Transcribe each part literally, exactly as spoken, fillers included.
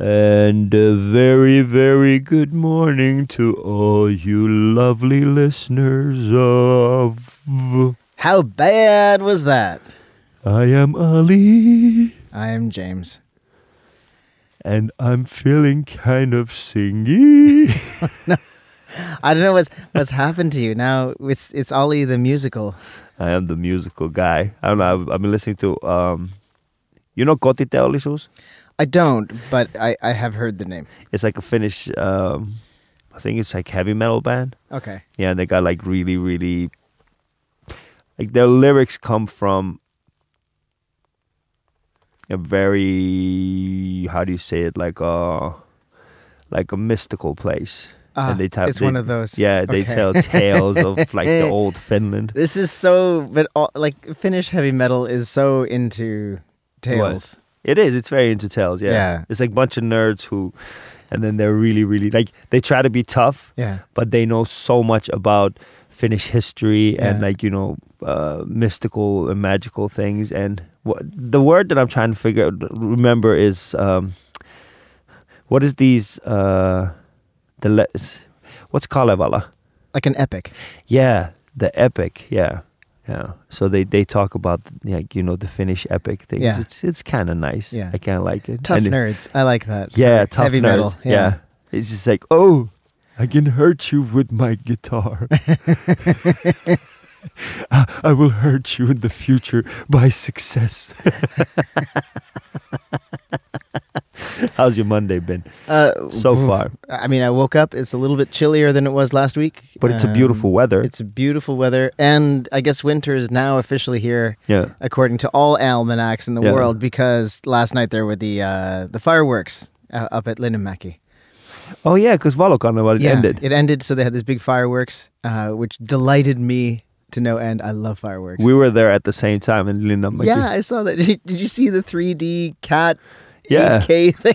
And a very, very good morning to all you lovely listeners of... How bad was that? I am Ali. I am James. And I'm feeling kind of singy. No, I don't know what's what's happened to you. Now it's it's Ali the musical. I am the musical guy. I don't know. I've, I've been listening to... Um, you know Kotiteollisuus? I don't, but I, I have heard the name. It's like a Finnish... Um, I think it's like heavy metal band. Okay. Yeah, and they got like really, really... Like their lyrics come from a very, how do you say it, like a like a mystical place. Ah, and they tell, it's they, one of those. Yeah, they Okay. tell tales of like the old Finland. This is so, but all, like Finnish heavy metal is so into tales. What? It is. It's very into tales. Yeah. Yeah. It's like a bunch of nerds who, and then they're really, really like they try to be tough. Yeah. But they know so much about Finnish history Yeah. and like, you know, uh, mystical and magical things. And what, the word that I'm trying to figure out, remember is, um, what is these, uh, the le- what's Kalevala? Like an epic. Yeah, the epic. Yeah. Yeah. So they, they talk about, like, you know, the Finnish epic things. Yeah. It's it's kind of nice. Yeah. I kind of like it. Tough And it- nerds. I like that. Yeah, For tough heavy nerds. metal. Yeah. Yeah. It's just like, oh, I can hurt you with my guitar. I, I will hurt you in the future by success. How's your Monday been Uh, so oof. far? I mean, I woke up. It's a little bit chillier than it was last week. But it's a Um, beautiful weather. It's a beautiful weather. And I guess winter is now officially here, Yeah. according to all almanacs in the Yeah. world, because last night there were the uh, the fireworks uh, up at Linnanmäki. Oh yeah, because Valokarneval it Yeah, ended. It ended, so they had this big fireworks, uh, which delighted me to no end. I love fireworks. We were there at the same time in Linnanmäki. Yeah, I saw that. Did you, did you see the three D cat Yeah. eight K thing?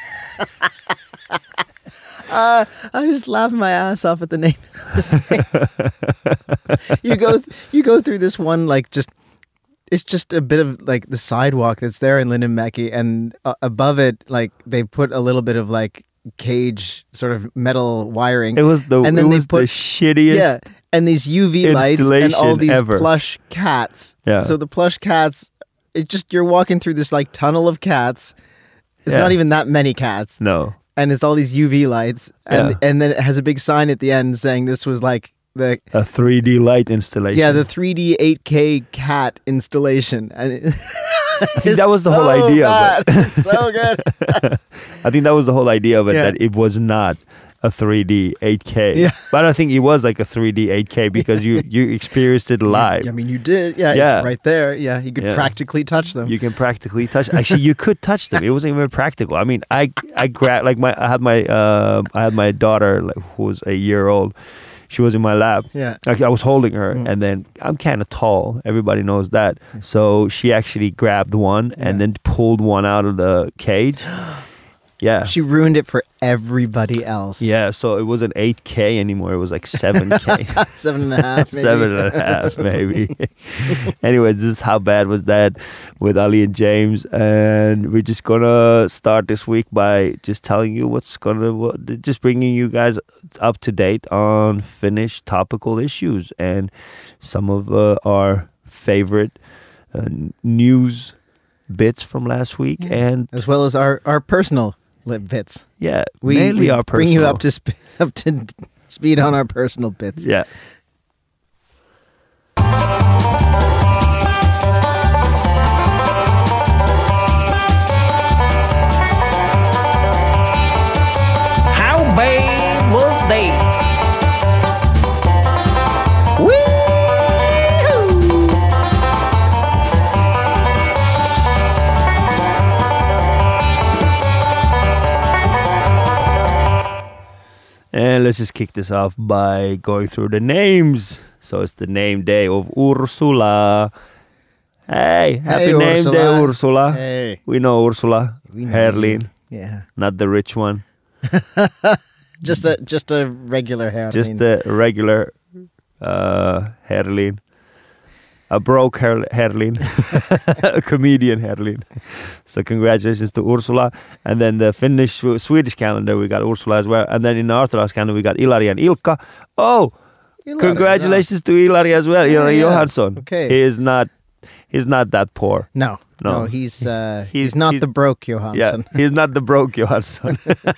uh, I just laughed my ass off at the name of this thing. you go, th- you go through this one like just. It's just a bit of like the sidewalk that's there in Linnanmäki, and uh, above it, like they put a little bit of like cage sort of metal wiring. It was the And then it they was put- the shittiest. Yeah, and these U V lights and all installation these ever. plush cats. Yeah. So the plush cats, it just you're walking through this like tunnel of cats. It's Yeah. not even that many cats, No. and it's all these U V lights, and Yeah. and then it has a big sign at the end saying this was like the A three D light installation. yeah the three D eight K cat installation, and it, I think that was the whole so idea of bad. it. It's so good. I think that was the whole idea of it, Yeah. that it was not a three D eight K. Yeah. But I think it was like a three D eight K because you, you experienced it live. I mean, you did, yeah, Yeah. It's right there. Yeah, you could Yeah. practically touch them. You can practically touch. Actually, you could touch them. It wasn't even practical. I mean, I I grabbed like my I had my uh I had my daughter, like, who was a year old. She was in my lap. Yeah. Actually, I was holding her, Mm. and then I'm kind of tall. Everybody knows that. So she actually grabbed one Yeah. and then pulled one out of the cage. Yeah. She ruined it for everybody else. Yeah, so it wasn't eight K anymore. It was like seven K. Seven and a half, maybe. Seven and a half, maybe. Anyways, this is how bad was that with Ali and James. And we're just going to start this week by just telling you what's going to, just bringing you guys up to date on Finnish topical issues and some of uh, our favorite uh, news bits from last week. Yeah. And As well as our, our personal lit bits. yeah, We, mainly we our personal. bring you up to, sp- up to speed on our personal bits. Yeah. How bad was that? Woo! And let's just kick this off by going through the names. So it's the name day of Ursula. Hey, happy Hey, name Ursula. day, Ursula. Hey. We know Ursula. We know Herlin, Yeah. not the rich one. Just a just a regular hair. Just the regular uh, Herlin. a broke her- Herlin, a comedian Herlin. So congratulations to Ursula. And then the Finnish Swedish calendar we got Ursula as well. And then in the Orthodox calendar we got Ilari and Ilkka. Oh, Ilari, congratulations to Ilari as well. Yeah, Ilari yeah. Johansson. Okay. He is not. He's not that poor. No, no, No. he's, uh, he's He's- not he's- the broke Johansson. Yeah, he's not the broke Johansson.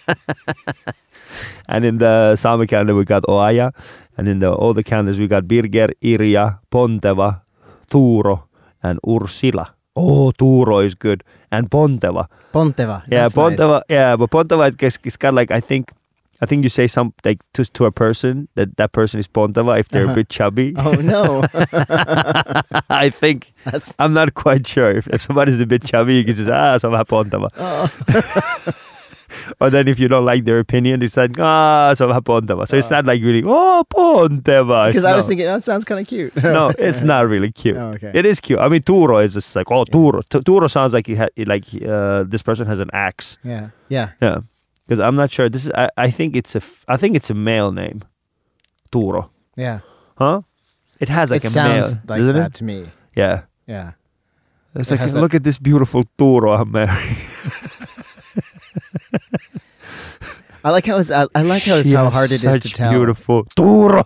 And in the Sami calendar we got Oaja, and in the older calendars we got Birger, Irja, Ponteva, Tuuro, and Ursila. Oh, Tuuro is good, and Ponteva. Ponteva. Yeah, that's Ponteva. nice. Yeah, but Ponteva is, is kind of like I think. I think you say some like to to a person that that person is Ponteva if they're Uh-huh. a bit chubby. Oh no, I think that's I'm not quite sure if, if somebody's a bit chubby, you can just ah, so vähän Ponteva. oh. Or then if you don't like their opinion, it's like, ah, so vähän Ponteva. So it's not like really, oh, Ponteva. Because It's I was no. thinking, that sounds kind of cute. No, it's not really cute. Oh, okay. It is cute. I mean, Tuuro is just like, oh, Tuuro. Tu- Tuuro sounds like he ha- like uh, this person has an axe. Yeah, yeah. Yeah. Because I'm not sure. This is. I, I think it's a. F- I think it's a male name. Tuuro. Yeah. Huh? It has like it a sounds male, like doesn't that it? to me. Yeah. Yeah. It's It like, has that- look at this beautiful Tuuro I'm marrying. I like how it's, I, I like how it's She how has hard it is to such tell. Beautiful Tuuro.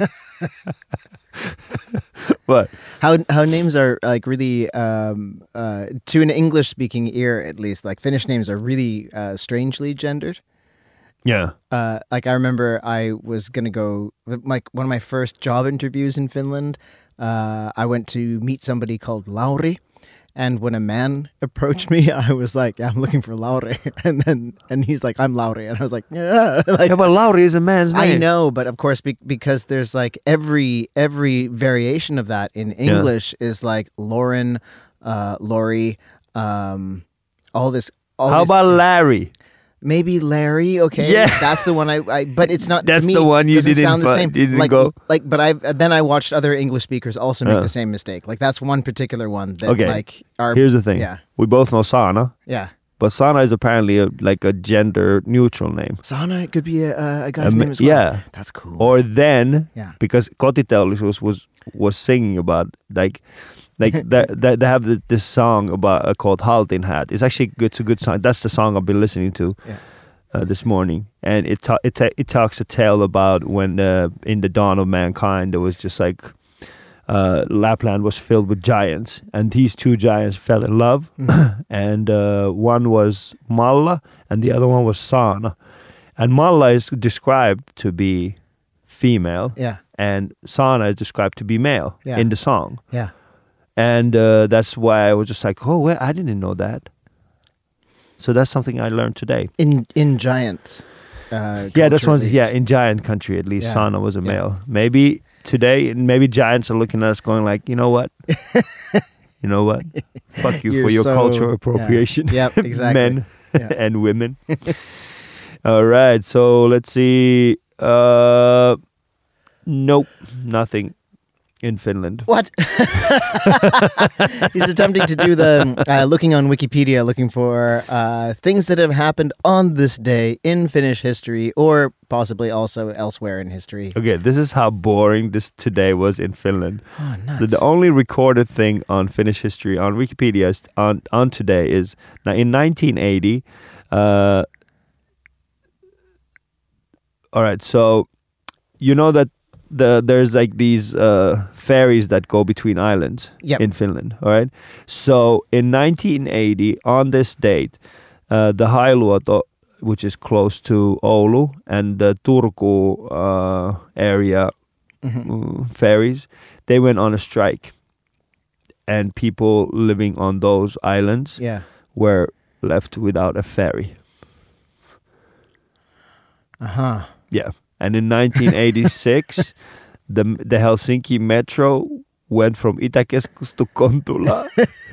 What? How how names are like really um uh to an English speaking ear at least, like Finnish names are really uh strangely gendered. Yeah. Uh, like I remember I was gonna go like one of my first job interviews in Finland. Uh, I went to meet somebody called Lauri, and when a man approached me, I was like, yeah, "I'm looking for Lauri," and then and he's like, "I'm Lauri," and I was like, "Yeah." Like, Yeah, but Lauri is a man's name. I know, but of course, be- because there's like every every variation of that in English is like Lauren, uh, Lori, um, all this. All How this, about Larry? maybe Larry? Okay, Yeah. that's the one. I, I but it's not. That's to me, the one you doesn't didn't sound the fi- same. didn't like go? like, but I then I watched other English speakers also make Uh. the same mistake. Like that's one particular one that Okay. like are Here's the thing. Yeah, We both know Sana, yeah. but Sana is apparently a, like a gender neutral name. Sana it could be a, a guy's Um, name as well. yeah. That's cool. Or then, yeah, because Kotiteollisuus was was singing about like like they, they, they have the, this song about uh, called Haltin Hat. It's actually good. It's a good song. That's the song I've been listening to yeah. uh, this morning, and it ta- it ta- it talks a tale about when uh, in the dawn of mankind there was just like uh, Lapland was filled with giants, and these two giants fell in love, Mhm. and uh, one was Malla and the other one was Sana, and Malla is described to be female, yeah, and Sana is described to be male Yeah. in the song. yeah. And uh, that's why I was just like, oh, well, I didn't know that. So that's something I learned today. In in giants. Uh, Yeah, that's culture, one. at least. Yeah, in giant country, at least Yeah, Sana was a yeah. male. Maybe today, maybe giants are looking at us, going like, you know what, you know what, fuck you You're for your so- cultural appropriation, Yeah. Yep, exactly. men Yeah. and women. All right, so let's see. Uh, nope, nothing in Finland. What? He's attempting to do the uh, looking on Wikipedia, looking for uh, things that have happened on this day in Finnish history, or possibly also elsewhere in history. Okay, this is how boring this today was in Finland. Oh, nuts. So the only recorded thing on Finnish history on Wikipedia is on on today is now in nineteen eighty. Uh, all right, so you know that the there's like these uh, ferries that go between islands Yep. in Finland. All right, so in nineteen eighty, on this date, uh, the Hailuoto, which is close to Oulu, and the Turku uh, area Mhm. uh, ferries, they went on a strike, and people living on those islands Yeah. were left without a ferry. Uh huh. Yeah, and in nineteen eighty-six, the the Helsinki Metro went from Itäkeskus to Kontula.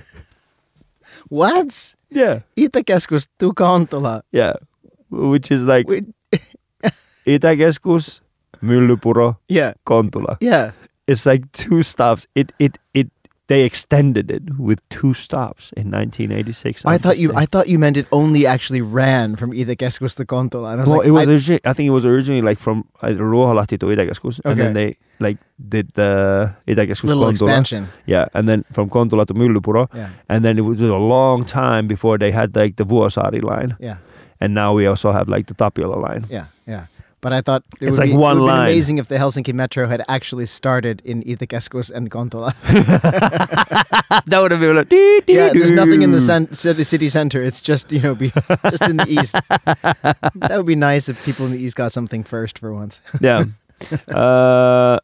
What? Yeah, Itäkeskus to Kontula. yeah, which is like Wait. Itäkeskus, Myllypuro, Yeah. Kontula. Yeah. It's like two stops. It it it they extended it with two stops in nineteen eighty-six. I thought you I thought you meant it only actually ran from Itäkeskus to Kontola. And I was well, like, it was I, origi- I think it was originally like from uh, Ruoholahti to Itäkeskus, and Okay. then they like did the Itäkeskus little Kontula. expansion. Yeah, and then from Kontula to Myllypuro, Yeah. and then it was a long time before they had like the Vuosaari line, Yeah. and now we also have like the Tapiola line. Yeah. Yeah. But I thought it It's would like be, one it would line. been amazing if the Helsinki Metro had actually started in Itäkeskus and Kontola. That would have been like, dee, dee, Yeah, there's nothing in the doo. cen- city, city center. It's just, you know, be just in the east. That would be nice if people in the east got something first for once. Yeah. uh,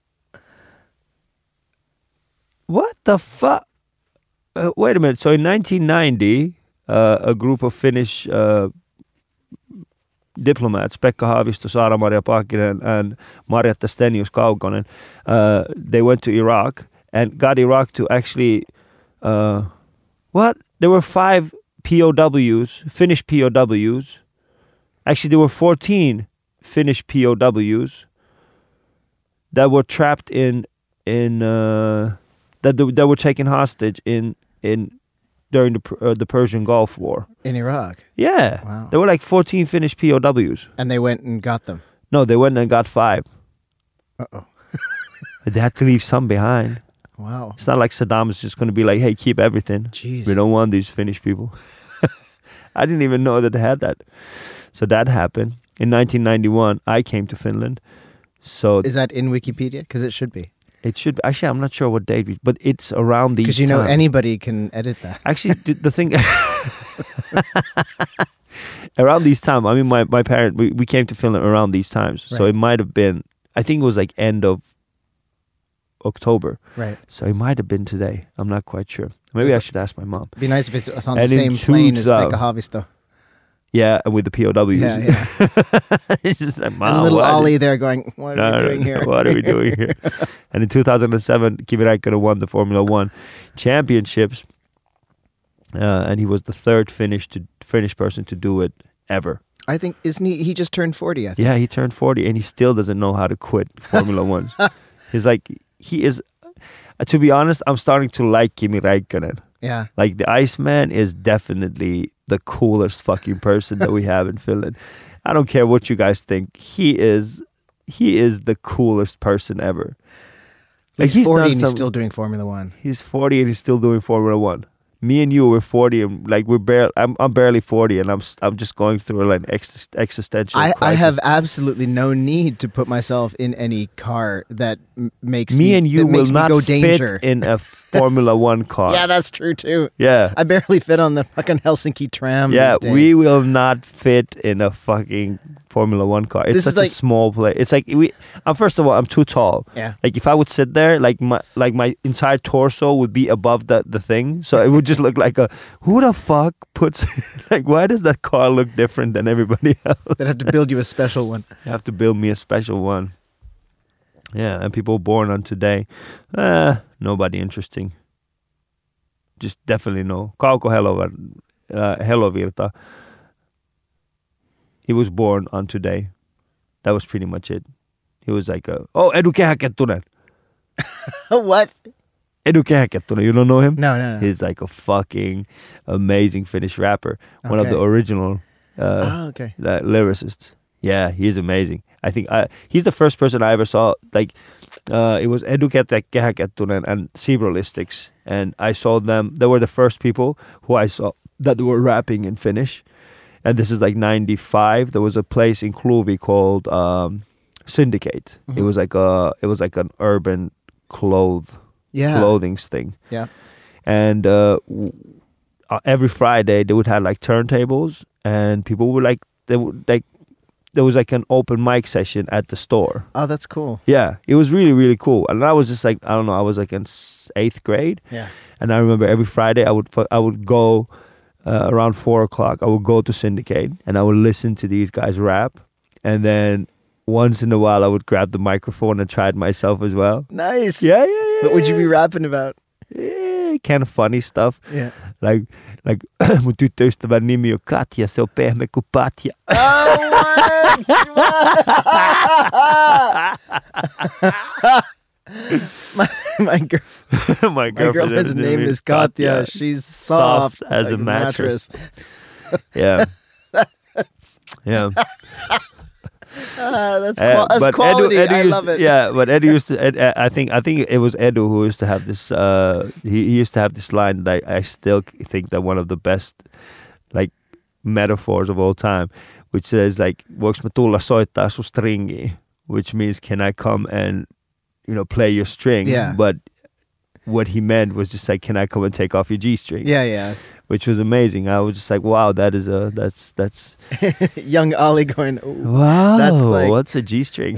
what the fuck? Uh, wait a minute. So in nineteen ninety, uh, a group of Finnish uh, diplomats, Pekka Haavisto, Saara-Maria Paakkinen, and Marjatta Stenius Kaukonen, uh, they went to Iraq and got Iraq to actually, uh, what? There were five P O Ws, Finnish P O Ws. Actually, there were fourteen Finnish P O Ws that were trapped in in uh, that they, that were taken hostage in in during the uh, the Persian Gulf War. In Iraq. Yeah, Wow. there were like fourteen Finnish P O Ws. And they went and got them. No, they went and got five. Uh-oh. They had to leave some behind. Wow. It's not like Saddam is just going to be like, "Hey, keep everything. Jeez. We don't want these Finnish people." I didn't even know that they had that. So that happened in nineteen ninety-one. I came to Finland. So Is that in Wikipedia? Because it should be. it should be, actually, I'm not sure what date, we, but it's around these. Because you know times. anybody can edit that. Actually, the, the thing around these times, I mean, my, my parent, we, we came to Finland around these times. So Right. it might have been, I think it was like end of October. Right. So it might have been today. I'm not quite sure. Maybe Is I that- should ask my mom. Be nice if it's on And the in same plane as two thou- Pekka Haavisto. Yeah, with the P O Ws. Yeah, yeah. It's just like, And Mom, little what is- Ollie there going, what are No, we no, doing no, here? What are we doing here? And in two thousand seven, Kimi Räikkönen won the Formula One championships, uh, and he was the third Finnish to Finnish person to do it ever. I think, isn't he, he just turned forty, I think. Yeah, he turned forty, and he still doesn't know how to quit Formula One. He's like, he is. Uh, to be honest, I'm starting to like Kimi Räikkönen. Yeah. Like the Iceman is definitely the coolest fucking person that we have in Finland. I don't care what you guys think. He is he is the coolest person ever. Like, He's, forty done and he's some- still doing Formula One. He's forty and he's still doing Formula One. Me and you were forty and like we're barely. I'm I'm barely forty and I'm s- I'm just going through like ex- existential. I, I crisis. have absolutely no need to put myself in any car that m- makes me, Me and you that will makes me not go fit danger. in a Formula One car. Yeah, that's true too. yeah. I barely fit on the fucking Helsinki tram. Yeah, these days. we will not fit in a fucking Formula One car. It's This is such like- a small place. It's like we. Um, first of all, I'm too tall. Yeah. Like if I would sit there, like my like my entire torso would be above the the thing, so it would just look like a. Who the fuck puts? Like, why does that car look different than everybody else? They'd have to build you a special one. You have to build me a special one. Yeah, and people born on today, uh, nobody interesting. Just definitely no. Kauko Helovar, uh, Helovirta. He was born on today. That was pretty much it. He was like, a, oh, Edu Kehäkettunen. What? Edu Kehäkettunen, you don't know him? No, no, no. He's like a fucking amazing Finnish rapper. One of Okay. the original uh, oh, okay. the lyricists. Yeah, he's amazing. I think I, he's the first person I ever saw. Like, uh, it was Edu Kehäkettunen and Zebralistics, and I saw them. They were the first people who I saw that were rapping in Finnish. And this is like ninety-five. There was a place in Kluvi called um, Syndicate. Mhm. It was like a, it was like an urban cloth Yeah. clothing thing. Yeah. And uh, w- uh, every Friday they would have like turntables, and people would like they would like there was like an open mic session at the store. Oh, that's cool. Yeah, it was really really cool. And I was just like I don't know, I was like in s- eighth grade, Yeah. and I remember every Friday I would fu- I would go uh, around four o'clock. I would go to Syndicate and I would listen to these guys rap, and then once in a while I would grab the microphone and try it myself as well. Nice. Yeah, yeah, yeah. What would you be yeah. rapping about? Yeah, kind of funny stuff. Yeah. Like, like mun tyttöystävän nimi on Katja, se on pehmeä kuin patja. Oh, what? my girl, my, my girlfriend girlfriend's name is Katya. She's soft, soft as like a mattress. yeah. yeah. Uh, that's Uh, qual- that's but quality. Edu, Edu I used, love it. Yeah, but Edu used to. Ed, I think I think it was Edu who used to have this. Uh, he, he used to have this line that I, I still think that one of the best, like, metaphors of all time, which says like, "Voiko mä tulla soittaa sun stringi?" Which means, can I come and, you know, play your string? Yeah. But what he meant was just like, can I come and take off your G string? Yeah, yeah. Which was amazing. I was just like, wow, that is a that's that's Young Ollie going, ooh, wow. that's like- what's a G string?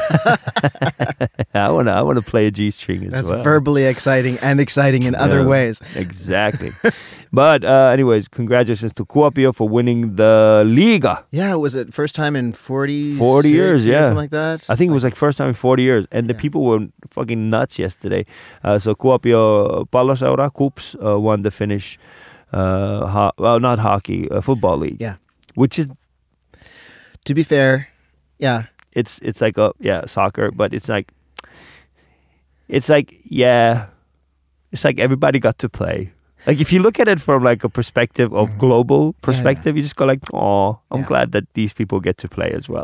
I wanna I wanna play a G string as that's well. verbally exciting and exciting in other Yeah, ways. Exactly. But uh, anyways, congratulations to Kuopio for winning the Liga. Yeah, was it first time in forty forty years, yeah. something like that? I think it was like first time in forty years, and the Yeah. people were fucking nuts yesterday. Uh, so Kuopio Palloseura Kups uh, won the Finnish, uh, ho- well, not hockey, uh, football league. Yeah. Which is To be fair, yeah, it's it's like a yeah soccer, but it's like it's like yeah, it's like everybody got to play. Like if you look at it from like a perspective of Mhm. global perspective, you just go like, oh, I'm Yeah. glad that these people get to play as well.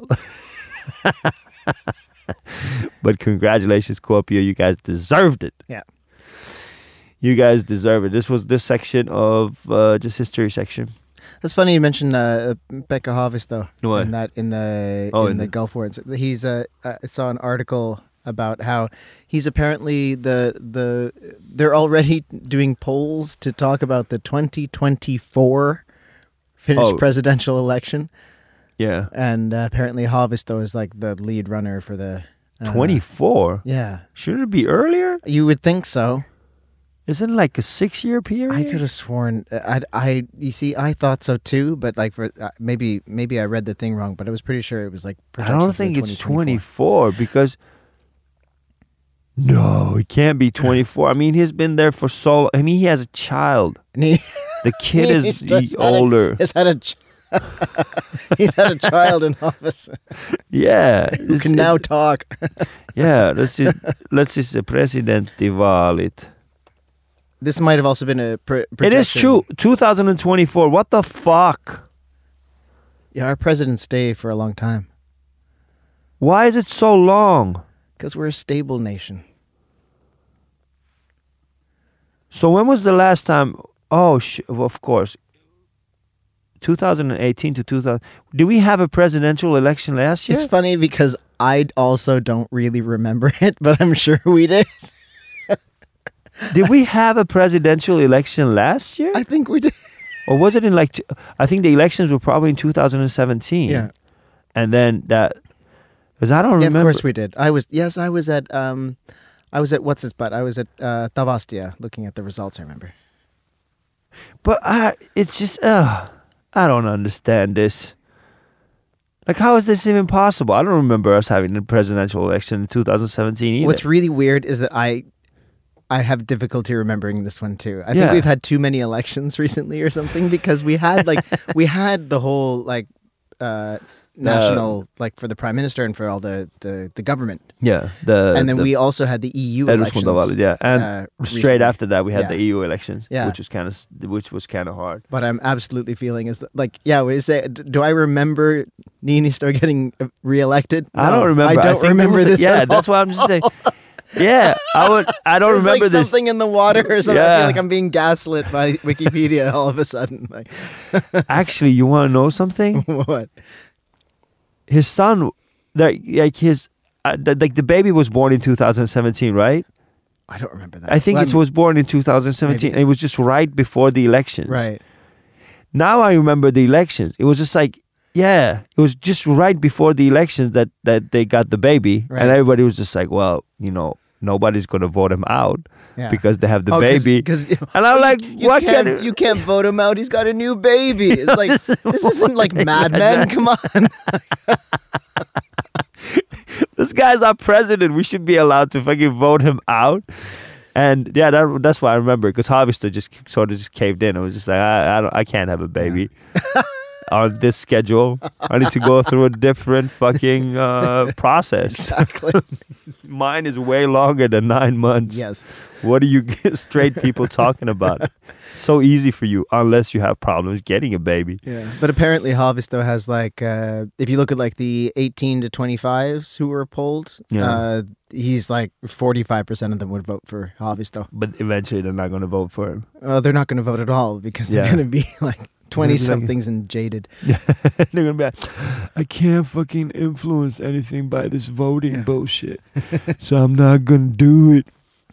But congratulations, Kuopio, you guys deserved it. Yeah. You guys deserve it. This was this section of uh, just history section. that's funny you mentioned uh, Pekka Haavisto What? in that in the Oh, in, in the, the- Gulf War. It's- He's uh, I saw an article about how he's apparently the the they're already doing polls to talk about the twenty twenty-four Finnish Oh. presidential election, Yeah. and uh, apparently Haavisto is like the lead runner for the uh, twenty-four? Yeah, Shouldn't it be earlier? you would think so. Isn't it like a six-year period? I could have sworn I, I you see I thought so too, but like for uh, maybe maybe I read the thing wrong, but I was pretty sure it was like. I projected don't for think it's twenty twenty-four twenty-four. because no, it can't be twenty-four. I mean, he's been there for so long. I mean, he has a child. And he, The kid He's is just had a- older. he's had a ch- he's had a child in office Yeah. who it's- can now it's- talk. Yeah, let's just, let's just say presidenttivaalit. This might have also been a pr- It is projection. true. two thousand twenty-four. What the fuck? Yeah, our presidents stay for a long time Why is it so long? because we're a stable nation. So when was the last time? Oh, sh- of course. two thousand eighteen to two thousand. Did we have a presidential election last year? It's funny because I also don't really remember it, but I'm sure we did. Did we have a presidential election last year? I think we did. Or was it in like, t- I think the elections were probably in two thousand seventeen. Yeah. And then that, because I don't Yeah, remember. of course we did. I was yes, I was at um, I was at what's his butt? I was at uh, Tavastia looking at the results. I remember. But I, it's just, uh, I don't understand this. Like, how is this even possible? I don't remember us having a presidential election in two thousand seventeen either. What's really weird is that I, I have difficulty remembering this one too. I think Yeah. we've had too many elections recently or something because we had like we had the whole like uh, national like for the prime minister and for all the the, the government, yeah, the and then the we also had the E U elections. eduskuntavaalit, yeah, and uh, straight recently. after that we had Yeah. the E U elections, Yeah. which was kind of which was kind of hard. What I'm absolutely feeling is that, like, yeah, what you say? d- Do I remember Niinisto getting uh, reelected? I No, don't remember. I don't think there remember was a- this. Yeah, at that's all. why I'm just saying. Yeah, I would. I don't There's remember like this. something in the water or something. I Yeah. feel like I'm being gaslit by Wikipedia all of a sudden. Like, Actually, you want to know something? what? His son, like, like his, uh, the, like the baby was born in two thousand seventeen, right? I don't remember that. I think Well, it was born in two thousand seventeen. Maybe. And it was just right before the elections. right. Now I remember the elections. It was just like, yeah, it was just right before the elections that, that they got the baby. Right. And everybody was just like, well, you know, nobody's going to vote him out Yeah. because they have the Oh, 'cause- baby. 'cause, And I'm like, you what can't, can you can't vote him out. He's got a new baby. It's like this isn't like Mad Men. Come on. This guy's our president. We should be allowed to fucking vote him out. And yeah, that, that's why I remember because Haavisto just sort of just caved in. It was just like, I, I don't, I can't have a baby. on this schedule. I need to go through a different fucking uh, process. Exactly. Mine is way longer than nine months. Yes. What are you straight people talking about? It's so easy for you unless you have problems getting a baby. Yeah. But apparently Haavisto has like, uh, if you look at like the eighteen to twenty-fives who were polled, Yeah. uh, he's like forty-five percent of them would vote for Haavisto. But eventually they're not going to vote for him. Well, they're not going to vote at all because they're Yeah. going to be like twenty-somethings and jaded. They're going to be like, I can't fucking influence anything by this voting Yeah. bullshit. So I'm not going to do it.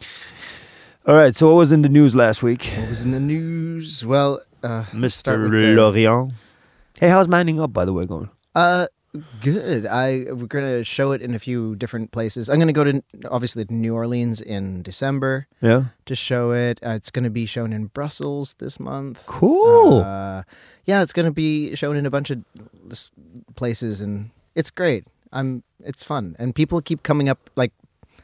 All right, so what was in the news last week? What was in the news? Well, uh, start Mister with the- Lorient. Hey, how's Manning Up, by the way, going? Uh, good. I we're gonna show it in a few different places. I'm gonna go to obviously to New Orleans in December Yeah. to show it. Uh, it's gonna be shown in Brussels this month. Cool. Uh, yeah, it's gonna be shown in a bunch of s- places, and it's great. I'm. It's fun, and people keep coming up like.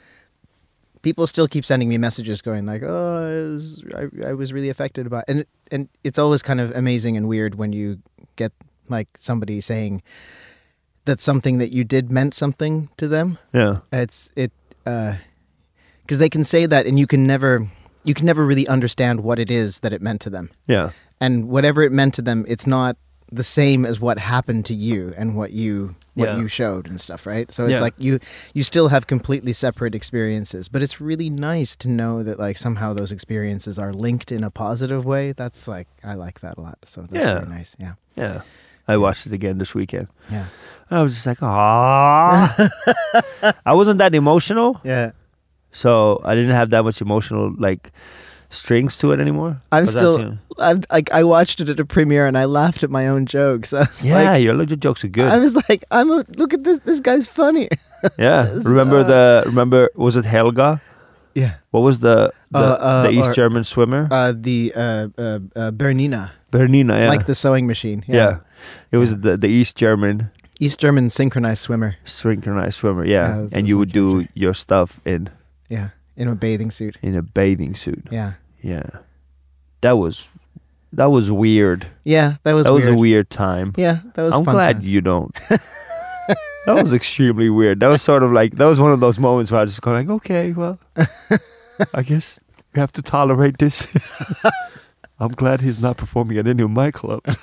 People still keep sending me messages going like, "Oh, I was, I, I was really affected by," and and it's always kind of amazing and weird when you get like somebody saying that something that you did meant something to them. Yeah. It's it because they can say that, and you can never you can never really understand what it is that it meant to them, Yeah. and whatever it meant to them, it's not the same as what happened to you and what you what Yeah. you showed and stuff, right? So it's Yeah. like you you still have completely separate experiences, but it's really nice to know that like somehow those experiences are linked in a positive way. That's like I like that a lot. So that's Yeah. really nice. Yeah. Yeah. I watched it again this weekend. Yeah. I was just like, ah. I wasn't that emotional, Yeah. so I didn't have that much emotional like strings to it anymore. I'm But that's, still you know- I'm like I watched it at a premiere and I laughed at my own jokes. I was yeah, like your your jokes are good. I was like, I'm a look at this this guy's funny. yeah. It's, Remember uh, the remember was it Helga? Yeah. What was the the, Uh, uh, the East or- German swimmer? Uh the uh uh, uh Bernina. Bernina, yeah. Like the sewing machine. yeah. It was Yeah. the the East German East German synchronized swimmer. synchronized swimmer, yeah. Yeah, that's- and that's you my would do character. your stuff in Yeah. In a bathing suit. in a bathing suit. Yeah. Yeah. That was that was weird. Yeah, that was that was weird. a weird time. Yeah, that was I'm fun glad times. you don't. That was extremely weird. That was sort of like that was one of those moments where I was just going like, okay, well, I guess we have to tolerate this. I'm glad he's not performing at any of my clubs.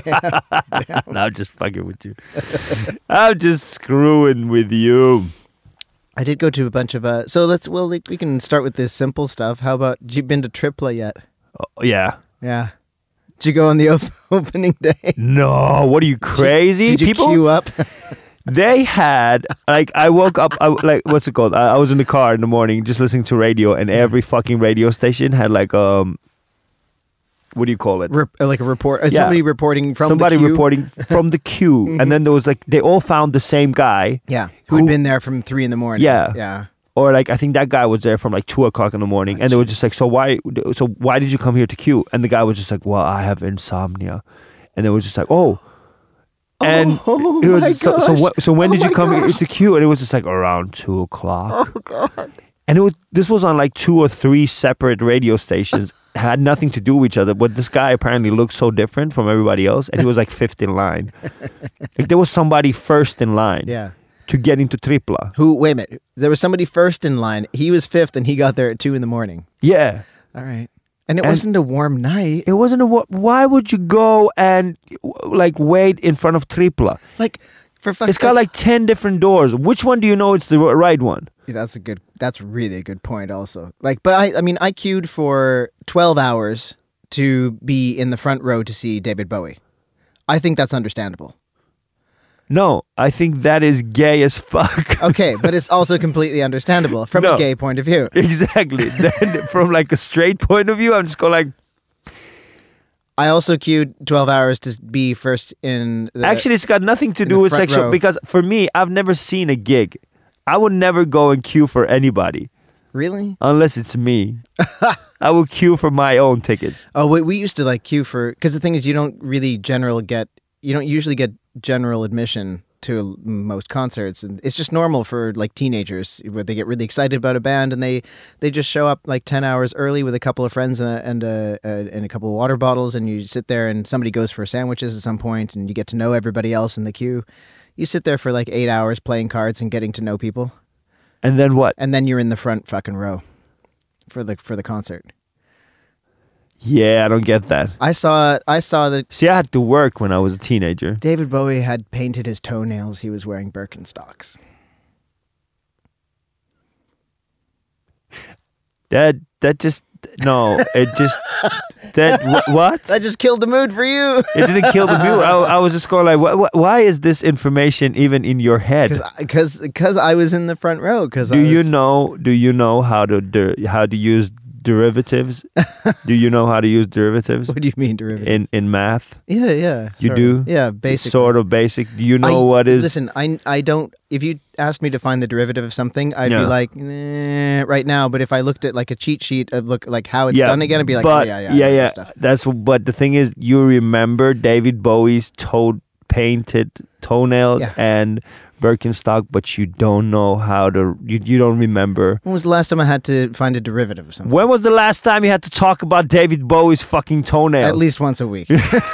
No, I'm just fucking with you. I'm just screwing with you. I did go to a bunch of uh so let's well like, we can start with this simple stuff. How about you been to Tripla yet? Oh, yeah. Yeah. Did you go on the op- opening day? No, what are you crazy? Did you People, queue up? they had like I woke up I, like what's it called? I, I was in the car in the morning just listening to radio, and every fucking radio station had like um, what do you call it? Rep- like a report uh, Yeah. somebody reporting from Somebody the queue? reporting from the queue, and then there was like they all found the same guy, Yeah. Who had Who- been there from three in the morning. Yeah. Yeah. or like I think that guy was there from like two o'clock in the morning, and they were just like, so why? So why did you come here to queue? And the guy was just like, well, I have insomnia, and they were just like, oh. And Oh it was my just, so so, gosh. what, so when Oh did you my come here gosh. to queue? And it was just like around two o'clock. Oh god. And it was this was on like two or three separate radio stations. Had nothing to do with each other, but this guy apparently looked so different from everybody else, and he was like fifth in line. Like there was somebody first in line Yeah. to get into Tripla. Who wait a minute. There was somebody first in line. He was fifth and he got there at two in the morning. Yeah, All right. And it And- wasn't a warm night. it wasn't a. wa- Why would you go and like wait in front of Tripla? Like for fuck It's got like ten different doors. Which one do you know it's the right one? That's a good. That's really a good point. Also, like, but I, I mean, I queued for twelve hours to be in the front row to see David Bowie. I think that's understandable. No, I think that is gay as fuck. Okay, but it's also completely understandable from No. a gay point of view. Exactly. Then from like a straight point of view, I'm just going like. I also queued twelve hours to be first in. The, Actually, it's got nothing to in do the with front sexual row. because for me, I've never seen a gig. I would never go and queue for anybody really? unless it's me. I will queue for my own tickets. Oh, we, we used to like queue for because the thing is, you don't really general get. You don't usually get general admission to most concerts, and it's just normal for like teenagers where they get really excited about a band and they they just show up like ten hours early with a couple of friends and a, and a, a and a couple of water bottles, and you sit there and somebody goes for sandwiches at some point, and you get to know everybody else in the queue. You sit there for like eight hours playing cards and getting to know people, And then what? and then you're in the front fucking row for the for the concert. Yeah, I don't get that. I saw I saw that See, I had to work when I was a teenager. David Bowie had painted his toenails. He was wearing Birkenstocks. That that just no. It just that wh- what? That just killed the mood for you. It didn't kill the mood. I, I was just going like, wh- wh- why is this information even in your head? Because because I was in the front row. Because Do I was, you know? Do you know how to der- how to use derivatives? Do you know how to use derivatives What do you mean derivative? in in math? yeah, yeah. You sort do? of. Yeah, basically. Sort of basic. Do you know I- what is? Listen, I I don't. If you asked me to find the derivative of something, I'd Yeah. be like, nah, right now. But if I looked at like a cheat sheet of look like how it's yeah, done again, I'd be like, but, oh, yeah, yeah, yeah, I know yeah. this stuff. That's but the thing is, you remember David Bowie's toe painted toenails Yeah. and Birkenstock, but you don't know how to. You you don't remember. When was the last time I had to find a derivative of something? When was the last time you had to talk about David Bowie's fucking toenails? At least once a week.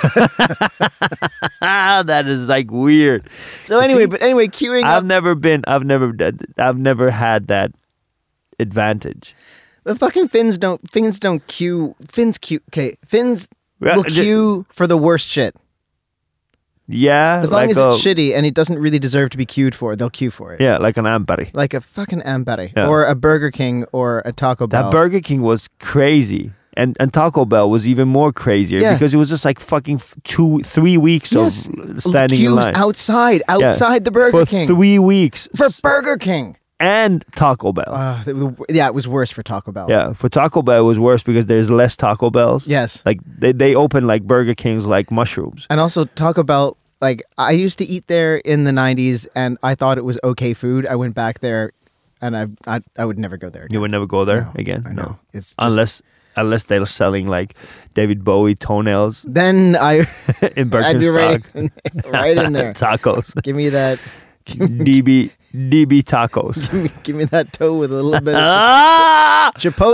That is like weird. So anyway, See, but anyway, queuing I've up. never been. I've never. I've never had that advantage. But fucking Finns don't. Finns don't queue. Finns queue. Okay, Finns Yeah, will ju- queue for the worst shit. Yeah, As long like as a, it's shitty and it doesn't really deserve to be queued for, they'll queue for it. Yeah, like an Ampari. Like a fucking Amberi Yeah. or a Burger King or a Taco Bell. That Burger King was crazy. And and Taco Bell was even more crazier Yeah. because it was just like fucking f- two, three weeks Yes. of standing Queues in line outside, outside the Burger for King. three weeks for S- Burger King. and Taco Bell. Uh, the- the- yeah, it was worse for Taco Bell. yeah, for Taco Bell it was worse because there's less Taco Bells. Yes. like they they open like Burger Kings like mushrooms. And also Taco Bell, like I used to eat there in the nineties and I thought it was okay food. I went back there and I I, I would never go there again. You would never go there No, again. I No, know. It's just, unless unless they're selling like David Bowie toenails then I in I'd be right Birkenstock. in, right in there. Tacos. Give me that D B D B tacos. give me, give me that toe with a little bit of Ah! chipotle.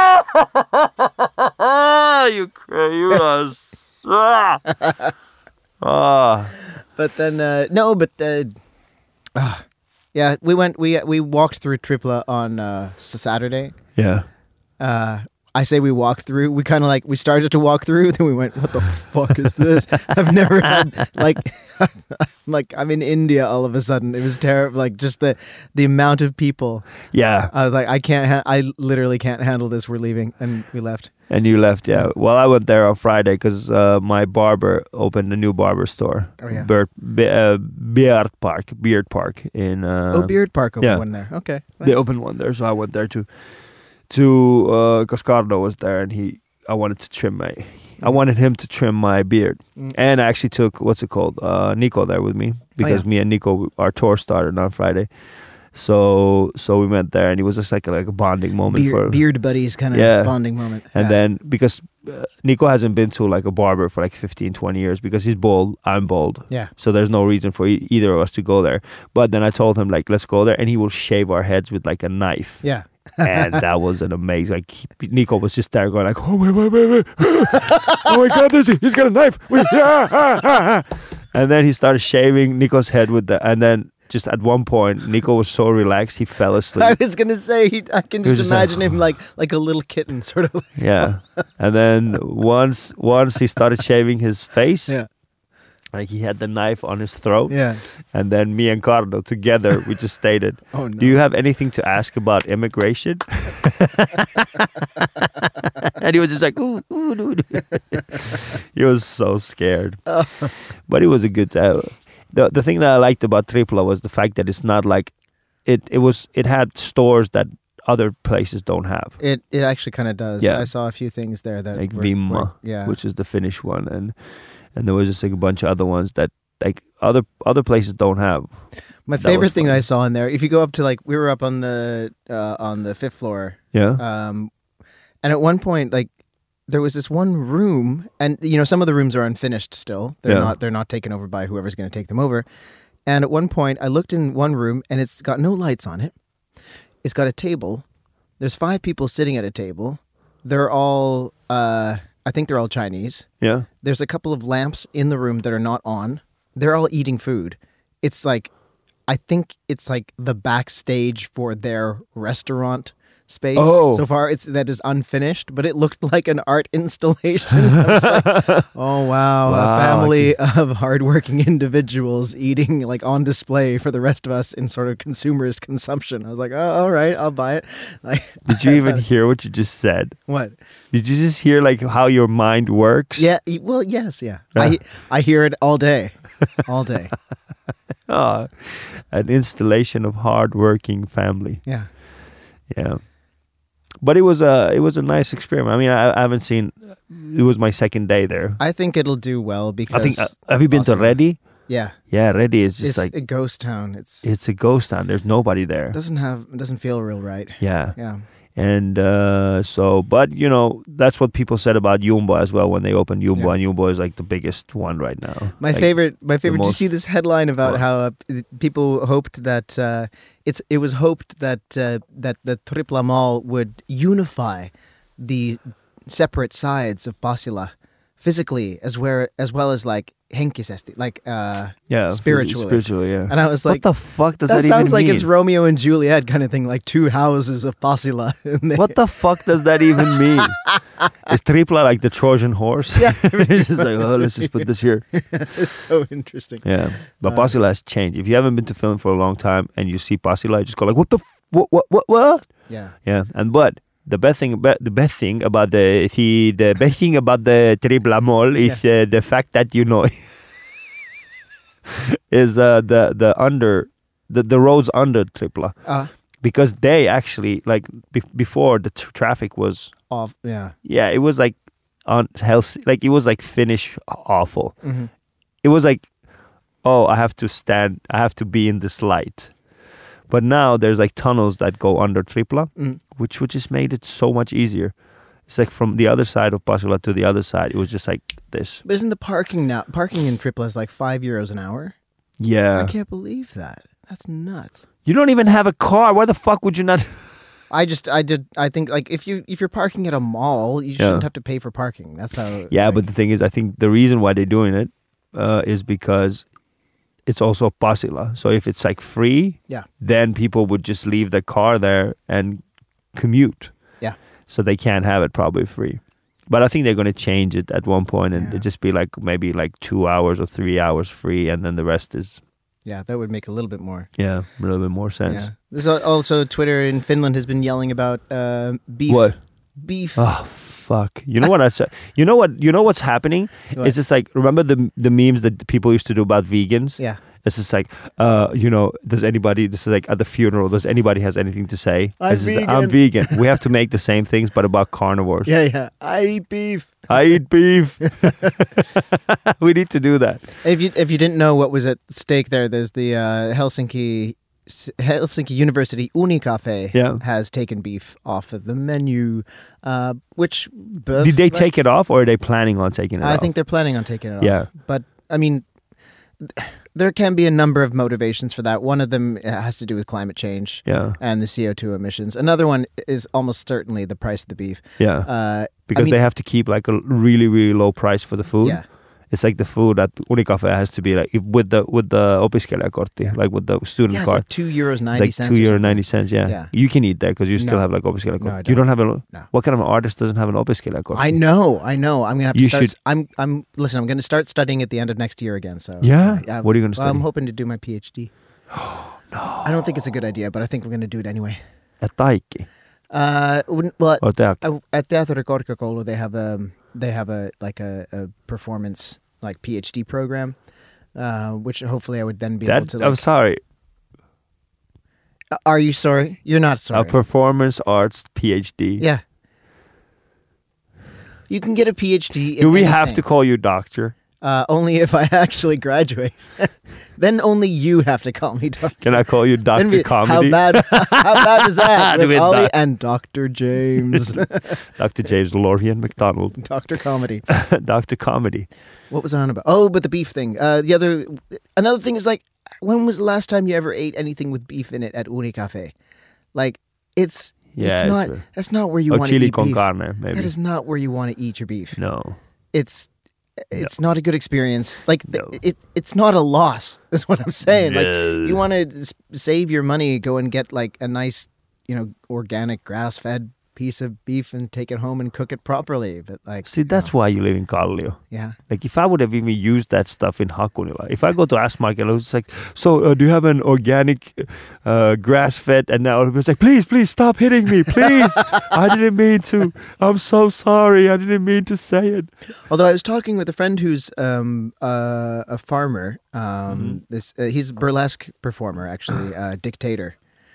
Ah! you cra- you are s- ah! Ah. But then uh, no, but uh, ah, yeah, we went we we walked through Tripla on uh, Saturday. Yeah. Uh, I say we walked through. We kind of like we started to walk through, then we went, "What the fuck is this?" I've never had like like I'm in India all of a sudden. It was terrible. Like just the the amount of people. Yeah. I was like, I can't. Ha- I literally can't handle this. We're leaving, and we left. And you left, yeah. Well, I went there on Friday because uh, my barber opened a new barber store. Oh, yeah. Beard, Be- uh, Beard Park, Beard Park in. Uh, oh, Beard Park opened yeah. one there. Okay, They nice. opened one there, so I went there to, to uh, Cascardo was there, and he. I wanted to trim my. I wanted him to trim my beard, Mm. and I actually took what's it called, uh, Nico there with me because yeah. me and Nico, our tour started on Friday, so so we went there, and it was just like a, like a bonding moment Beard, for. beard buddies kind of Yeah. bonding moment. And Yeah. then because uh, Nico hasn't been to like a barber for like fifteen, twenty years because he's bald, I'm bald. yeah, So there's no reason for e- either of us to go there. But then I told him like, let's go there, and he will shave our heads with like a knife. yeah. And that was an amazing. Like he, Nico was just there going like, oh wait, wait, wait, wait. Oh my God, there's a, he's got a knife. Wait, ah, ah, ah, ah. And then he started shaving Nico's head with the, and then just at one point, Nico was so relaxed he fell asleep. I was gonna say, he, I can He was just just like- imagine him like like a little kitten, sort of. Like, Yeah. And then once once he started shaving his face, yeah, like he had the knife on his throat. yeah. And then me and Carlo together, we just stated, Oh no. do you have anything to ask about immigration? And he was just like, ooh, ooh, ooh. He was so scared. Oh. But it was a good, uh, the, the thing that I liked about Tripla was the fact that it's not like, it, it was, it had stores that other places don't have. It it actually kind of does. Yeah. I saw a few things there that Like were, Vimma, were- yeah, which is the Finnish one, and and there was just like a bunch of other ones that like other other places don't have. My that favorite was thing fun. I saw in there, if you go up to like, we were up on the uh, on the fifth floor, Yeah, um, and at one point, like, there was this one room, and you know, some of the rooms are unfinished still. They're Yeah. not they're not taken over by whoever's going to take them over. And at one point, I looked in one room, and it's got no lights on it. It's got a table. There's five people sitting at a table. They're all, uh, I think they're all Chinese. Yeah. There's a couple of lamps in the room that are not on. They're all eating food. It's like, I think it's like the backstage for their restaurant space. Oh. So far, it's that is unfinished, but it looked like an art installation. I was like, oh wow, Wow. a family of hardworking individuals eating like on display for the rest of us in sort of consumerist consumption. I was like, oh, all right, I'll buy it. Like, Did you even hear what you just said? what? Did you just hear like how your mind works? Yeah. y- Well, yes, yeah. Yeah. I I hear it all day, all day. Oh, an installation of hard-working family. Yeah. Yeah. But it was a it was a nice experiment. I mean, I, I haven't seen. It was my second day there. I think it'll do well because I think. Uh, have you been to possibly- Reddy? yeah, Yeah, Reddy is just it's like a ghost town. It's it's a ghost town. There's nobody there. it doesn't have it doesn't feel real right. Yeah, Yeah. and uh, so, but you know, that's what people said about Jumbo as well when they opened Jumbo, Yeah. and Jumbo is like the biggest one right now. My Like, favorite, my favorite. Did you most- see this headline about What? how uh, p- people hoped that uh, it's it was hoped that uh, that the Tripla Mall would unify the separate sides of Pasila physically as where as well as like henkisesti, like uh, Yeah, spiritually. spiritually, yeah. and I was What like, the fuck does that that, sounds even like mean? it's Romeo and Juliet kind of thing, like two houses of Pasila. And they- What the fuck does that even mean? Is Tripla like the Trojan horse? Yeah. It's just like, oh, let's just put this here. It's so interesting. Yeah, but Uh, Pasila has changed. If you haven't been to Finland for a long time and you see Pasila, you just go like, what the, f- what, what, what, what? Yeah. Yeah, and but the best thing, about, the best thing about the the, the best thing about the Tripla Mall is uh, the fact that you know is uh, the the under the the roads under Tripla Uh, because they actually like be- before the t- traffic was off. Yeah. yeah it was like on health like it was like Finnish awful. hmm It was like, oh, I have to stand, I have to be in this light. But now there's like tunnels that go under Tripla, Mm. which which just made it so much easier. It's like from the other side of Pasila to the other side, it was just like this. But isn't the parking now? Parking in Tripla is like five euros an hour. Yeah. I can't believe that. That's nuts. You don't even have a car. Why the fuck would you not? I just, I did, I think like if you if you're parking at a mall, you Yeah. shouldn't have to pay for parking. That's how. Yeah, like, but the thing is, I think the reason why they're doing it uh, is because it's also Pasila. So if it's like free, Yeah. then people would just leave their car there and commute. Yeah. So they can't have it probably free. But I think they're going to change it at one point and Yeah. it just be like maybe like two hours or three hours free, and then the rest is Yeah, that would make a little bit more. yeah a little bit more sense. Yeah. There's al- also Twitter in Finland has been yelling about uh, beef. What? Beef. Oh fuck! You know what I said? You know what? You know what's happening? What? It's just like remember the the memes that people used to do about vegans. Yeah. It's just like, uh, you know, does anybody, this is like at the funeral, does anybody has anything to say? I'm It's just, vegan. I'm vegan. We have to make the same things, but about carnivores. Yeah, yeah. I eat beef. I eat beef. We need to do that. If you if you didn't know what was at stake there, there's the uh, Helsinki Helsinki University Unicafe Yeah. has taken beef off of the menu, uh, which both, Did they take it off or are they planning on taking it I off? think they're planning on taking it off. Yeah. But I mean, th- there can be a number of motivations for that. One of them has to do with climate change Yeah. and the C O two emissions. Another one is almost certainly the price of the beef. Yeah. Uh, Because I mean, they have to keep like a really, really low price for the food. yeah, It's like the food at Unicafe has to be like if with the with the opiskelijakortti, Yeah. like with the student yeah, it's card. like two euros It's ninety like cents. two or euro something. ninety cents. Yeah. Yeah. You can eat that because you still No. have like opiskelijakortti. No, I You don't have a. No. What kind of artist doesn't have an opiskelijakortti? I know, I know. I'm gonna have to You start. should- I'm, I'm. Listen, I'm gonna start studying at the end of next year again. So Yeah? uh, What are you gonna well, I'm study? hoping to do my PhD. no, I don't think it's a good idea, but I think we're gonna do it anyway. At Taikki Uh, wouldn't- well, or Teak? uh, at Teatterikorkeakoulu they have a they have a like a, a performance like PhD program, uh, which hopefully I would then be That able to. I'm Like, sorry. Uh, are you sorry? You're not sorry. A performance arts PhD. yeah. You can get a PhD. In Do we have anything. to call you doctor? Uh, only if I actually graduate. Then only you have to call me doctor. Can I call you Then Doctor we- Comedy? How bad? How bad is that? With With Ollie doc- and Doctor James, Doctor James Lorian McDonald. Doctor Comedy. Doctor Comedy. What was I on about? Oh, but the beef thing. Uh, the other, another thing is like, when was the last time you ever ate anything with beef in it at Unicafe? Like, it's Yeah, it's it's not. true. That's not where you Or want to chili eat con beef. carne, maybe. That is not where you want to eat your beef. No. It's it's not a good experience. Like th- No. it, it's not a loss. Is what I'm saying. Like No. you want to s- save your money, go and get like a nice, you know, organic grass-fed piece of beef and take it home and cook it properly. But like, See, that's why you live in Kallio. yeah. Like, if I would have even used that stuff in Hakunila, if I go to Ask Market, I was like, so uh, do you have an organic uh, grass-fed? And now I was like, please, please stop hitting me, please. I didn't mean to. I'm so sorry. I didn't mean to say it. Although I was talking with a friend who's um, uh, a farmer. Um, Mm-hmm. This uh, he's a burlesque performer, actually, uh, Dictator.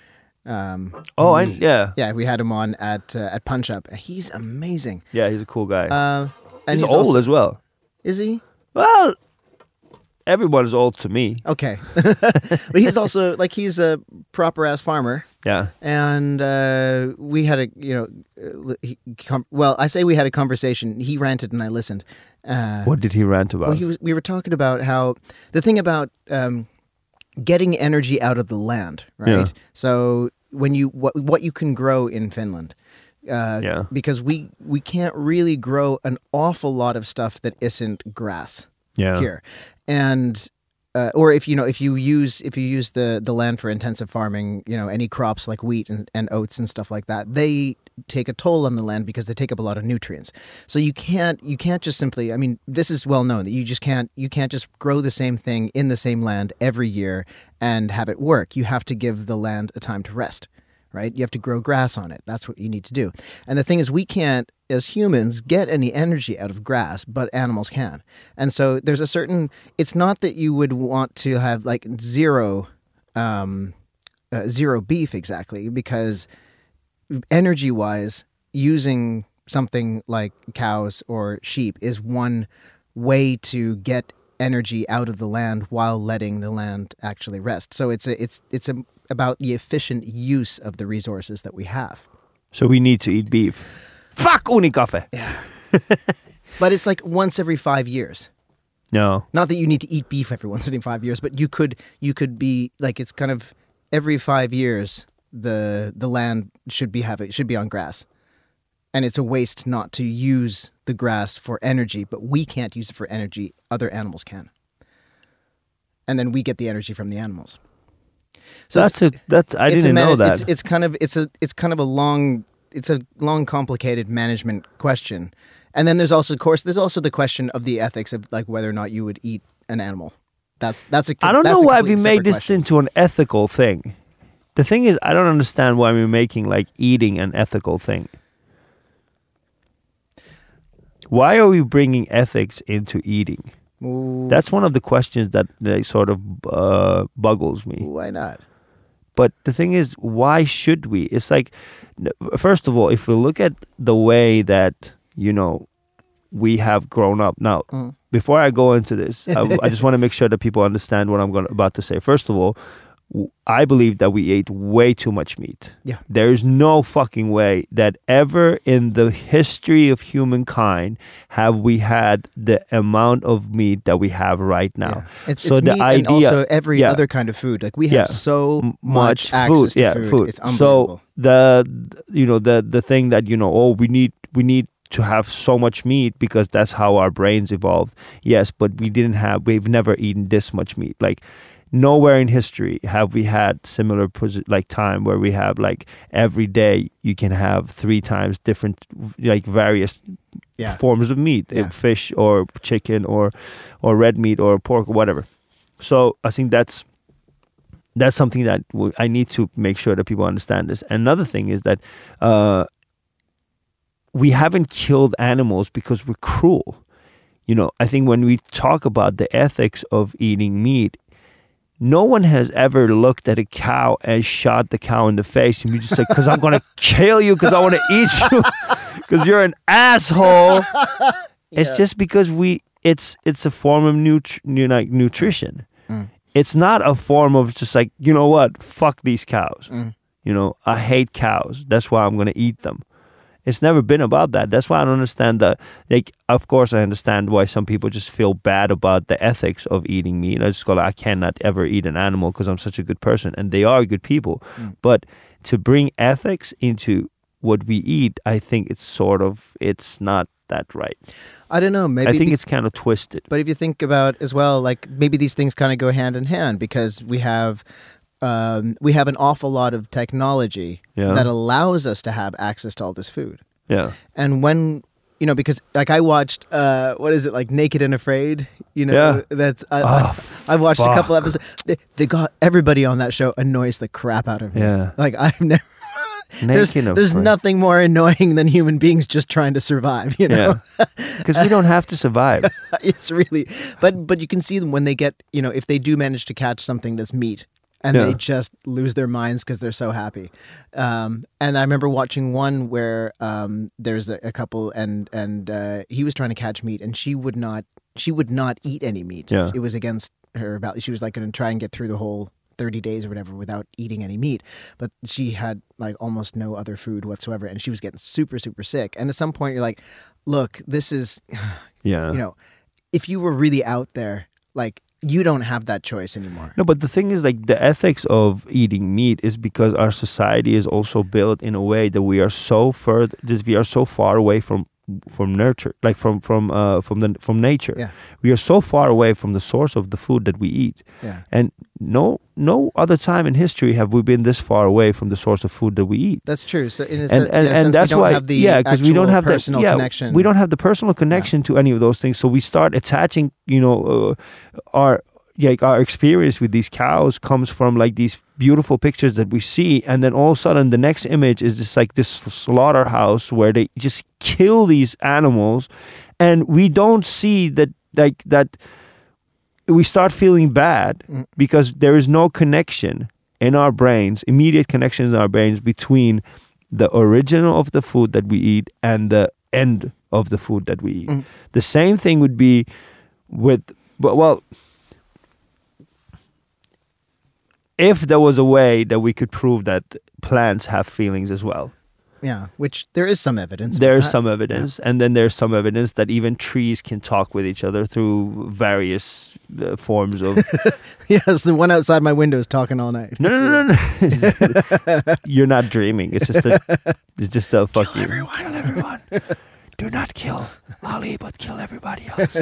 Um, Oh, I, he- yeah. yeah, we had him on at uh, at Punch Up. He's amazing. Yeah, he's a cool guy. Uh, and he's, old also- as well. Is he? Well, everyone is old to me. Okay, but he's also like he's a proper ass farmer, Yeah. and uh, we had a you know, uh, he, com- well, I say we had a conversation. He ranted and I listened. Uh, What did he rant about? Well, he was, we were talking about how the thing about um, getting energy out of the land, right? Yeah. So when you what what you can grow in Finland, uh, Yeah. because we we can't really grow an awful lot of stuff that isn't grass yeah. here, and. Uh, or if you know if you use if you use the, the land for intensive farming, you know, any crops like wheat and, and oats and stuff like that, they take a toll on the land because they take up a lot of nutrients. So you can't you can't just simply, I mean, this is well known that you just can't you can't just grow the same thing in the same land every year and have it work. You have to give the land a time to rest, right? You have to grow grass on it. That's what you need to do. And the thing is, we can't, as humans, get any energy out of grass, but animals can. And so there's a certain, it's not that you would want to have like zero, um, uh, zero beef exactly, because energy-wise, using something like cows or sheep is one way to get energy out of the land while letting the land actually rest. So it's a, it's it's a, about the efficient use of the resources that we have. So we need to eat beef. Fuck Unicafe! Yeah. But it's like once every five years. No. Not that you need to eat beef every once every five years, but you could you could be like, it's kind of every five years the the land should be have it should be on grass. And it's a waste not to use the grass for energy, but we can't use it for energy. Other animals can. And then we get the energy from the animals. So that's a that's I it's didn't a man- know that. It's, it's kind of it's a it's kind of a long it's a long complicated management question. And then there's also, of course, there's also the question of the ethics of like whether or not you would eat an animal. That that's a I don't that's know a why we completely made separate this question. into an ethical thing. The thing is, I don't understand why we're making like eating an ethical thing. Why are we bringing ethics into eating? Ooh, That's one of the questions that, that sort of uh, buggles me. why not? But the thing is, why should we? It's like, n- first of all, if we look at the way that, you know, we have grown up. Now, Mm. before I go into this, I, I just want to make sure that people understand what I'm going about to say. First of all, w- I believe that we ate way too much meat. Yeah. There is no fucking way that ever in the history of humankind have we had the amount of meat that we have right now. Yeah. It's, So it's the meat and idea- also every yeah. other kind of food. Like we have Yeah. so M- much, access to yeah, food. It's So unbelievable. the you know the the thing that you know oh we need we need to have so much meat because that's how our brains evolved. Yes, but we didn't have we've never eaten this much meat. Like nowhere in history have we had similar posi- like time where we have like every day you can have three times different like various yeah. forms of meat, Yeah. uh, fish or chicken or or red meat or pork or whatever. So I think that's that's something that w- I need to make sure that people understand this. Another thing is that uh, we haven't killed animals because we're cruel. You know, I think when we talk about the ethics of eating meat, no one has ever looked at a cow and shot the cow in the face and you just like, because I'm going to kill you because I want to eat you because you're an asshole. It's Yeah. just because we, it's it's a form of nutri- you know, like nutrition. Mm. It's not a form of just like, you know what, fuck these cows. Mm. You know, I hate cows. That's why I'm going to eat them. It's never been about that. That's why I don't understand the, like, of course I understand why some people just feel bad about the ethics of eating meat. I just go, like, I cannot ever eat an animal because I'm such a good person. And they are good people. Mm. But to bring ethics into what we eat, I think it's sort of, it's not that right. I don't know. Maybe I think be, it's kind of twisted. But if you think about as well, like maybe these things kind of go hand in hand because we have um, we have an awful lot of technology yeah. that allows us to have access to all this food. Yeah. And when you know, because like I watched, uh, what is it, like Naked and Afraid? You know, yeah. that's I, oh, I, I've watched fuck. a couple episodes. They, they got everybody on that show annoys the crap out of me. Yeah. Like I've never. There's, there's nothing more annoying than human beings just trying to survive, you know? Because yeah. we don't have to survive. It's really, but but you can see them when they get, you know, if they do manage to catch something that's meat and yeah. they just lose their minds because they're so happy. Um, and I remember watching one where um, there's a, a couple and and uh, he was trying to catch meat and she would not, she would not eat any meat. Yeah. It was against her value. She was like going to try and get through the whole thirty days or whatever without eating any meat, but she had like almost no other food whatsoever and she was getting super super sick. And at some point you're like, look, this is yeah you know, if you were really out there, like you don't have that choice anymore. No, but the thing is, like, the ethics of eating meat is because our society is also built in a way that we are so further that we are so far away from from nurture, like from from uh from the from nature. Yeah. We are so far away from the source of the food that we eat. Yeah. And no no other time in history have we been this far away from the source of food that we eat. That's true. So in a and sense, and, in a and sense that's we don't why have the yeah because we don't have personal the yeah, connection. We don't have the personal connection yeah. to any of those things. So we start attaching, you know, uh, our like our experience with these cows comes from like these beautiful pictures that we see, and then all of a sudden the next image is just like this slaughterhouse where they just kill these animals, and we don't see that like that we start feeling bad mm. because there is no connection in our brains, immediate connections in our brains between the original of the food that we eat and the end of the food that we eat. Mm. The same thing would be with well if there was a way that we could prove that plants have feelings as well. Yeah, which there is some evidence. There is some evidence. Yeah. And then there's some evidence that even trees can talk with each other through various uh, forms of... Yes, the one outside my window is talking all night. No, no, no, no. no. You're not dreaming. It's just a... It's just a fuck kill you. Everyone. Kill everyone. Do not kill Ali, but kill everybody else.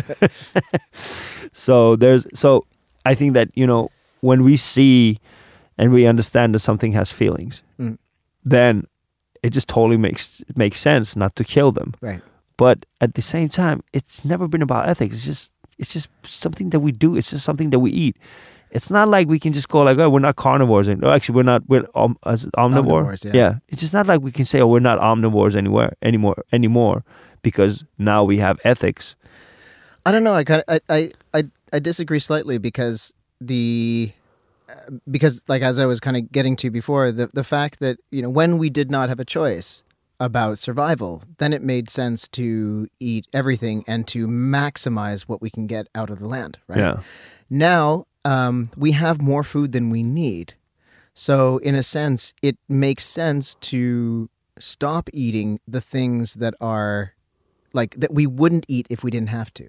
So there's... So I think that, you know, when we see and we understand that something has feelings, mm. then it just totally makes makes sense not to kill them. Right. But at the same time, it's never been about ethics. It's just it's just something that we do. It's just something that we eat. It's not like we can just go like, oh, we're not carnivores. And, no, actually, we're not. We're um, as omnivore. Omnivores, yeah. yeah. It's just not like we can say, oh, we're not omnivores anywhere anymore anymore because now we have ethics. I don't know. I kind I, I I I disagree slightly because the. Because, like, as I was kind of getting to before, the the fact that, you know, when we did not have a choice about survival, then it made sense to eat everything and to maximize what we can get out of the land, right? Yeah. Now, um, we have more food than we need. So, in a sense, it makes sense to stop eating the things that are, like, that we wouldn't eat if we didn't have to.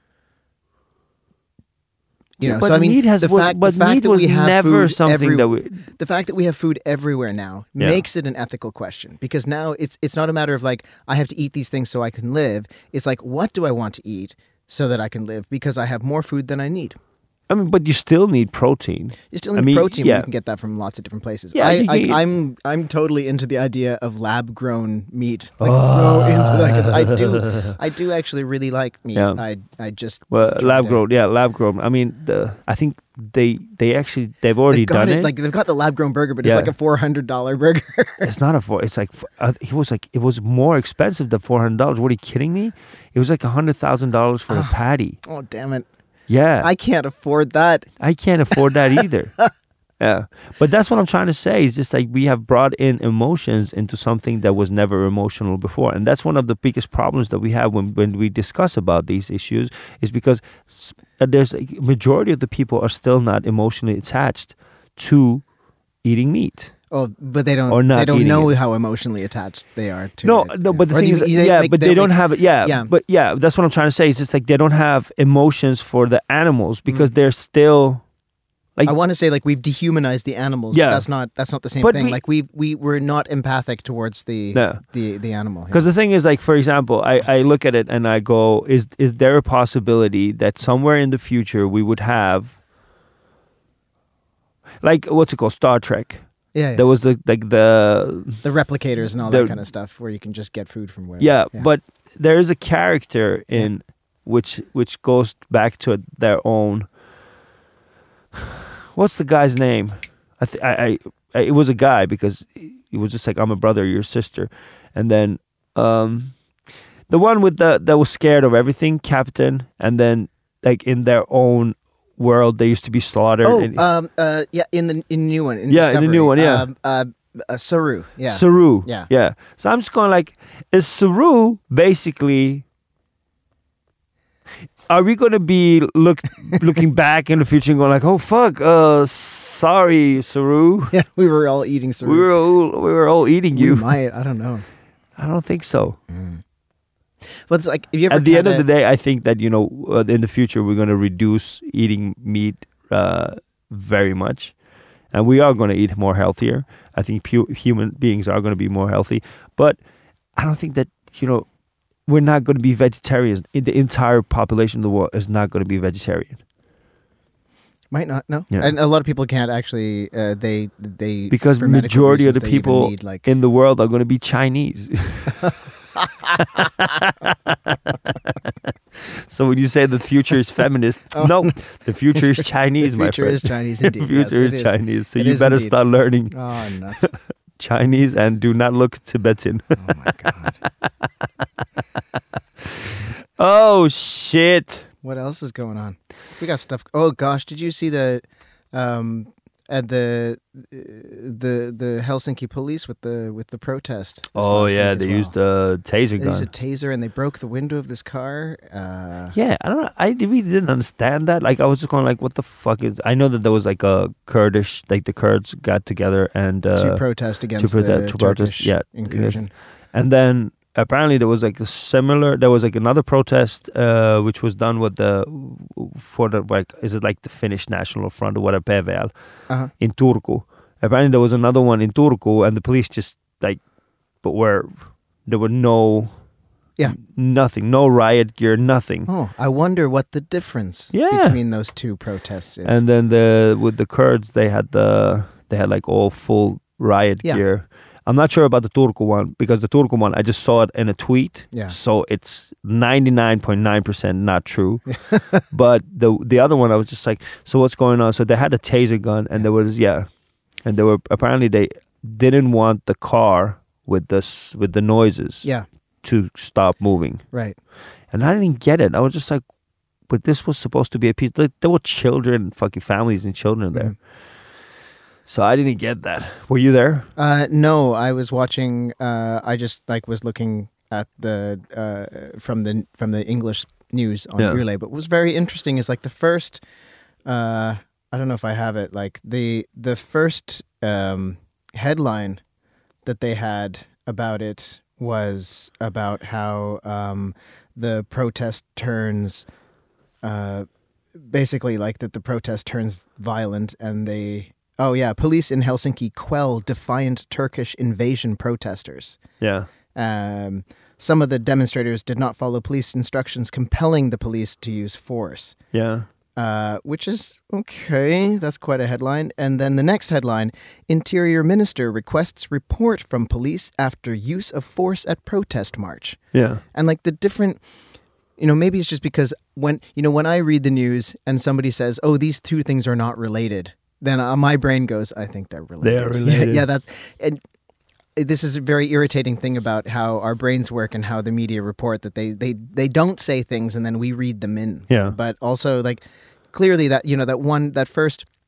You know, but so I mean, meat has, the was, fact, but the fact meat that was we have never food something every, that we. The fact that we have food everywhere now yeah. makes it an ethical question, because now it's it's not a matter of like I have to eat these things so I can live. It's like, what do I want to eat so that I can live? Because I have more food than I need. I mean, but you still need protein. You still need I mean, protein, yeah. but you can get that from lots of different places. Yeah, I, you, I, you, I'm I'm totally into the idea of lab grown meat. Like oh. so into that because I do I do actually really like meat. Yeah. I I just well lab grown. Yeah, lab grown. I mean, the I think they they actually they've already they've done it, it. Like they've got the lab grown burger, but it's yeah. like a four hundred dollar burger. It's not a four. It's like uh, it was like it was more expensive than four hundred dollars. What are you kidding me? It was like a hundred thousand dollars for a patty. Oh damn it! Yeah. I can't afford that. I can't afford that either. Yeah. But that's what I'm trying to say. It's just like we have brought in emotions into something that was never emotional before. And that's one of the biggest problems that we have when, when we discuss about these issues is because there's a majority of the people are still not emotionally attached to eating meat Oh, but they don't. Or not they don't eating know it. how emotionally attached they are to No, it. no, but the Or thing they- is, they yeah, make- but they, don't make- have it. Yeah, Yeah. but yeah, that's what I'm trying to say. It's just like they don't have emotions for the animals because they're still like I want to say like we've dehumanized the animals. Yeah. but that's not that's not the same But thing. we- like we we we're not empathic towards the No. the the animal. because the thing is, like, for example, I, I look at it and I go, is is there a possibility that somewhere in the future we would have like what's it called, Star Trek? yeah, yeah. There was the like the the replicators and all the- that kind of stuff where you can just get food from wherever. yeah, but there is a character in which which goes back to their own. What's the guy's name? I, th- I, I, I it was a guy because he was just like, I'm a brother, your sister, and then um, the one with the that was scared of everything, Captain, and then like in their own world they used to be slaughtered. Oh, and, um, uh, yeah, in the in the new one. In Yeah, in the new Discovery. one, yeah. Um, uh, uh, Saru. Yeah. Saru. Yeah. Yeah. So I'm just going like, is Saru basically? Are we going to be look looking back in the future and going like, oh fuck, uh, sorry, Saru, yeah, we were all eating Saru. we were all we were all eating We you. might. I don't know. I don't think so. But it's like, have you ever At the end had of the a- day, I think that you know, uh, in the future, we're going to reduce eating meat uh, very much, and we are going to eat more healthier. I think pu- human beings are going to be more healthy, but I don't think that you know. We're not going to be vegetarians. The entire population of the world is not going to be vegetarian Might not, no. Yeah. And a lot of people can't actually, uh, they, they, because for medical majority of the reasons, they even people need, like, in the world are going to be Chinese. So when you say the future is feminist, no, the future is Chinese, the my future friend. is Chinese The indeed. yes, future it is Chinese. So It you is better indeed. start learning Oh, nuts. Chinese and do not look Tibetan. Oh, my God. Oh, shit. What else is going on? We got stuff. Oh, gosh. Did you see the, um, at the, uh, the, the Helsinki police with the, with the protest? this Oh, last yeah, week as they well? used a taser They gun. used a taser and they broke the window of this car. Uh, Yeah, I don't know. I really didn't understand that. Like, I was just going like, what the fuck is... I know that there was like a Kurdish... Like, the Kurds got together and... Uh, to protest against protest- the to protest, Turkish yeah, incursion. And then apparently there was like a similar... There was like another protest uh, which was done with the... For the, like... Is it like the Finnish National Front or whatever, P V L, Uh-huh. in Turku. Apparently there was another one in Turku and the police just like... But where... There were no... Yeah. Nothing. No riot gear, nothing. Oh, I wonder what the difference Yeah. between those two protests is. And then the with the Kurds, they had the they had like all full riot Yeah. gear. I'm not sure about the Turku one because the Turku one I just saw it in a tweet. Yeah. So it's ninety-nine point nine percent not true. But the the other one I was just like, so what's going on? So they had a taser gun and there was yeah, and they were apparently they didn't want the car with this with the noises yeah, to stop moving. right. And I didn't get it. I was just like, but this was supposed to be a piece. Like, there were children, fucking families and children there. Mhm. So I didn't get that. Were you there? Uh, no, I was watching. Uh, I just like was looking at the uh, from the from the English news on Yeah. Relay. But what was very interesting is like the first. Uh, I don't know if I have it. Like the the first um, headline that they had about it was about how um, the protest turns. Uh, basically, like that the protest turns violent, and they. Oh yeah, police in Helsinki quell defiant Turkish invasion protesters. Yeah. Um, some of the demonstrators did not follow police instructions, compelling the police to use force. Yeah. Uh, which is okay. That's quite a headline. And then the next headline: Interior Minister requests report from police after use of force at protest march. Yeah. And like the different, you know, maybe it's just because when you know when I read the news and somebody says, "Oh, these two things are not related," then uh, my brain goes, "I think they're related." They are related. Yeah, yeah, that's and this is a very irritating thing about how our brains work and how the media report that they they they don't say things and then we read them in. Yeah. But also like clearly that you know that one that first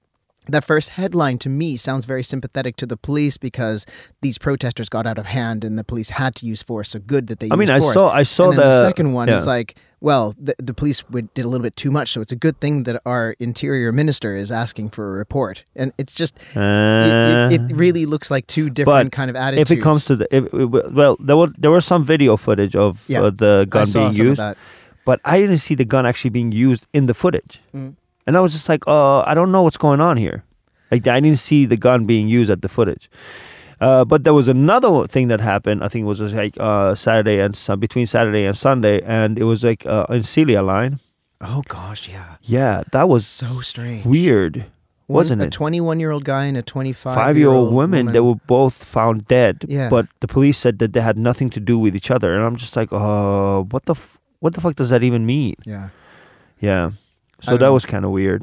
that first headline to me sounds very sympathetic to the police because these protesters got out of hand and the police had to use force. So good that they I used mean, I force. saw, I saw and then the, the second one yeah. is like, well, the, the police would, did a little bit too much. So it's a good thing that our interior minister is asking for a report. And it's just, Uh, it, it, it really looks like two different kind of attitudes. if it comes to the, if, well, there were there was some video footage of Yeah. uh, the gun I saw being some of used, that. but I didn't see the gun actually being used in the footage, Mm. and I was just like, uh, I don't know what's going on here. Like I didn't see the gun being used at the footage. Uh, but there was another thing that happened. I think it was just like uh, Saturday and sun between Saturday and Sunday, and it was like uh, in Celia Line. Oh gosh, yeah. Yeah, that was So strange. weird, One- wasn't a it? twenty-one-year-old guy and a twenty-five-year-old Five-year-old women, woman. they were both found dead. Yeah. But the police said that they had nothing to do with each other, and I'm just like, oh, what the f- what the fuck does that even mean? Yeah. Yeah. So don't that know. was kind of weird.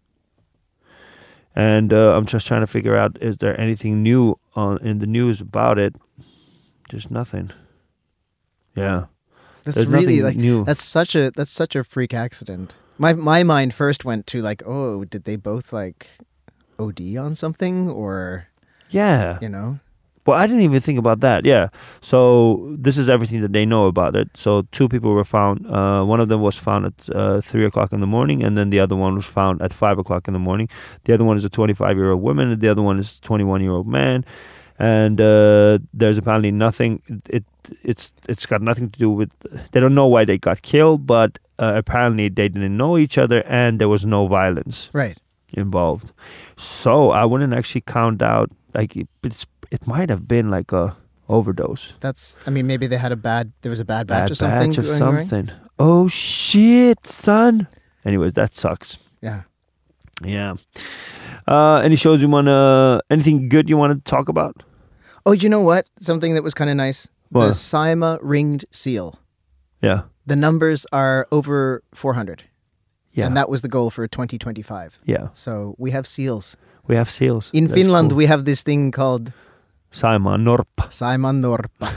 And uh, I'm just trying to figure out, is there anything new on in the news about it? Just nothing. Yeah. That's There's really nothing like new. that's such a that's such a freak accident. My my mind first went to like, oh, did they both like O D on something or Yeah. you know? Well, I didn't even think about that. Yeah. So this is everything that they know about it. So two people were found. Uh, one of them was found at uh, three o'clock in the morning, and then the other one was found at five o'clock in the morning. The other one is a twenty-five-year-old woman, and the other one is a twenty-one-year-old man. And uh, there's apparently nothing. It it's it's got nothing to do with. They don't know why they got killed, but uh, apparently they didn't know each other, and there was no violence Right. involved. So I wouldn't actually count out like it, it's. It might have been like a overdose. That's I mean maybe they had a bad there was a bad batch Bad of something. batch of going on. something. Oh shit, son. Anyways, that sucks. Yeah. Yeah. Uh, any shows you wanna? Anything good you want to talk about? Oh, you know what? Something that was kind of nice. What? The Saima ringed seal. Yeah. The numbers are over four hundred. Yeah. And that was the goal for twenty twenty-five. yeah. So we have seals. We have seals. In That's Finland, cool. we have this thing called Saimaa Norppa. Saimaan norppa.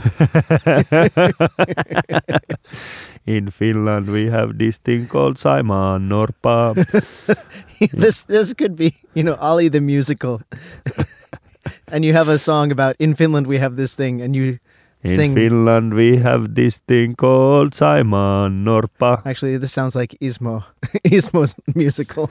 In Finland, we have this thing called Saimaa Norppa. this this could be, you know, Ollie the musical. And you have a song about in Finland we have this thing, and you In sing. Finland, we have this thing called Saimaa Norppa. Actually, this sounds like Ismo, Ismo's musical.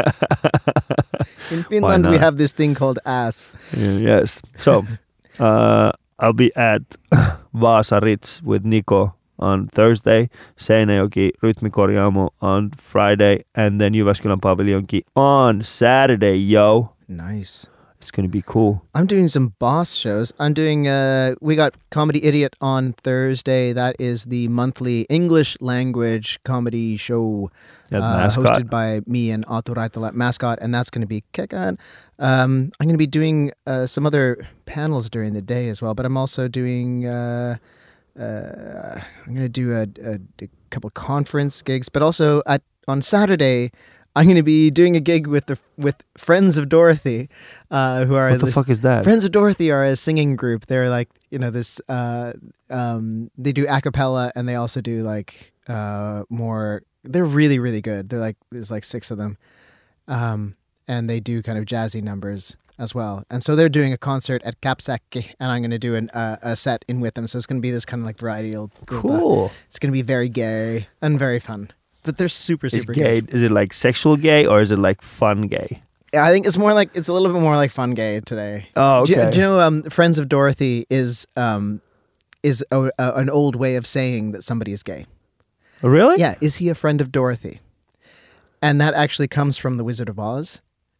In Finland, we not? have this thing called ass. Yes. So, uh, I'll be at Vaasa Ritz with Nico on Thursday, Seinäjoki Rytmikorjaamo on Friday, and then Jyväskylän Paviljonki on Saturday, yo. Nice. It's going to be cool. I'm doing some boss shows. I'm doing, uh, we got Comedy Idiot on Thursday. That is the monthly English language comedy show At uh, Mascot. hosted by me and Aatu Raitala at Mascot, and that's going to be kickin'. Um, I'm going to be doing uh, some other panels during the day as well, but I'm also doing, uh, uh, I'm going to do a, a, a couple conference gigs, but also at on Saturday, I'm going to be doing a gig with the with Friends of Dorothy, uh, who are What the this, fuck is that? Friends of Dorothy are a singing group. They're like, you know, this, uh, um, they do a cappella and they also do like, uh, more, they're really, really good. They're like, there's like six of them. Um, and they do kind of jazzy numbers as well. And so they're doing a concert at Kapsäkki and I'm going to do an, uh, a set in with them. So it's going to be this kind of like variety. Of, Cool. it's going to be very gay and very fun. But they're super, Is super gay? good. Is it like sexual gay or is it like fun gay? Yeah, I think it's more like, it's a little bit more like fun gay today. Oh, Do, you- okay. do you know um, Friends of Dorothy is um, is a, a, an old way of saying that somebody is gay. Really? Yeah, is he a friend of Dorothy? And that actually comes from The Wizard of Oz.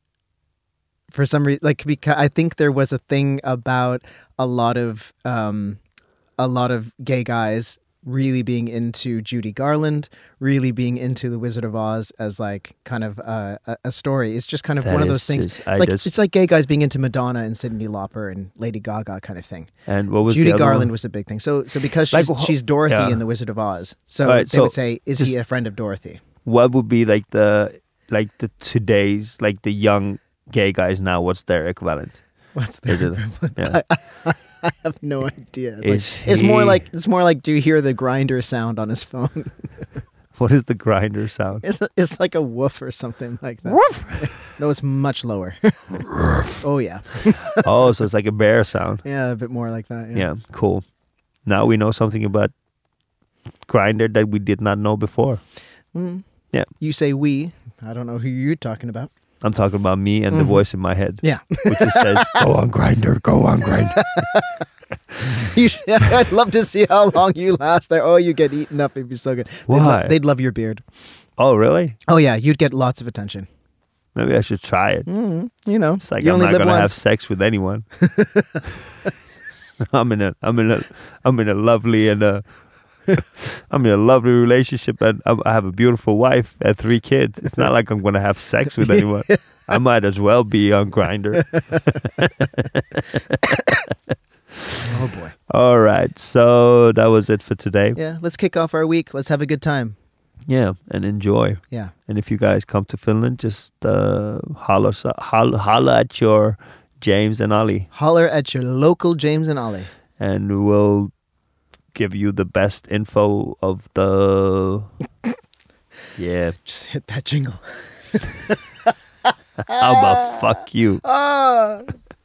For some reason, like because I think there was a thing about a lot of um, a lot of gay guys really being into Judy Garland, really being into The Wizard of Oz as like kind of uh, a, a story. It's just kind of That one of is those things. just- It's I like just- it's like gay guys being into Madonna and Cyndi Lauper and Lady Gaga kind of thing. And what was Judy the other Garland one? was a big thing. So so because Like, she's wh- she's Dorothy yeah. in The Wizard of Oz, so Right, they so would say, is he just- a friend of Dorothy? What would be like the like the today's like the young gay guys now? What's their equivalent? What's their Is it? equivalent? Yeah. I have no idea. Like, Is it's more he- like it's more like do you hear the grinder sound on his phone? What is the grinder sound? It's it's like a woof or something like that. Woof. No, it's much lower. Oh yeah, Oh, so it's like a bear sound. yeah, a bit more like that. Yeah. Yeah, cool. Now we know something about grinder that we did not know before. Mm. Yeah. You say we. I don't know who you're talking about. I'm talking about me and Mhm. the voice in my head, Yeah. which just says, "Go on, grinder, go on, grinder." You should, I'd love to see how long you last there. Oh, you get eaten up. It'd be so good. They'd, Why? lo- they'd love your beard. Oh, really? Oh yeah, you'd get lots of attention. Maybe I should try it. Mm, you know, It's like you I'm only not live gonna have once. sex with anyone. I'm in a, I'm in a, I'm in a lovely and a, I'm in a lovely relationship, and I I have a beautiful wife and three kids. It's not like I'm gonna have sex with anyone. I might as well be on Grindr. Oh boy. All right, so that was it for today. Yeah, let's kick off our week. Let's have a good time. Yeah, and enjoy. Yeah. And if you guys come to Finland, just uh, holler, holler, holler at your James and Ollie, Holler at your local James and Ollie. and we'll give you the best info of the. Yeah. Just hit that jingle. How about fuck you? Ah.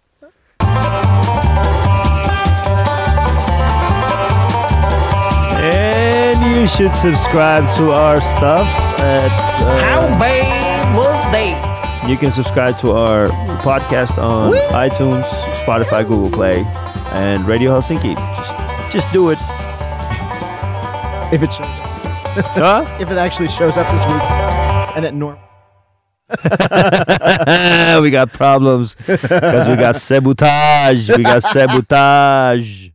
And you should subscribe to our stuff at. Uh, How bad was they? You can subscribe to our podcast on Whee! iTunes, Spotify, Google Play, and Radio Helsinki. Just, just do it. If it shows, Huh? if it actually shows up this week, and at normal. We got problems because we got sabotage. We got sabotage.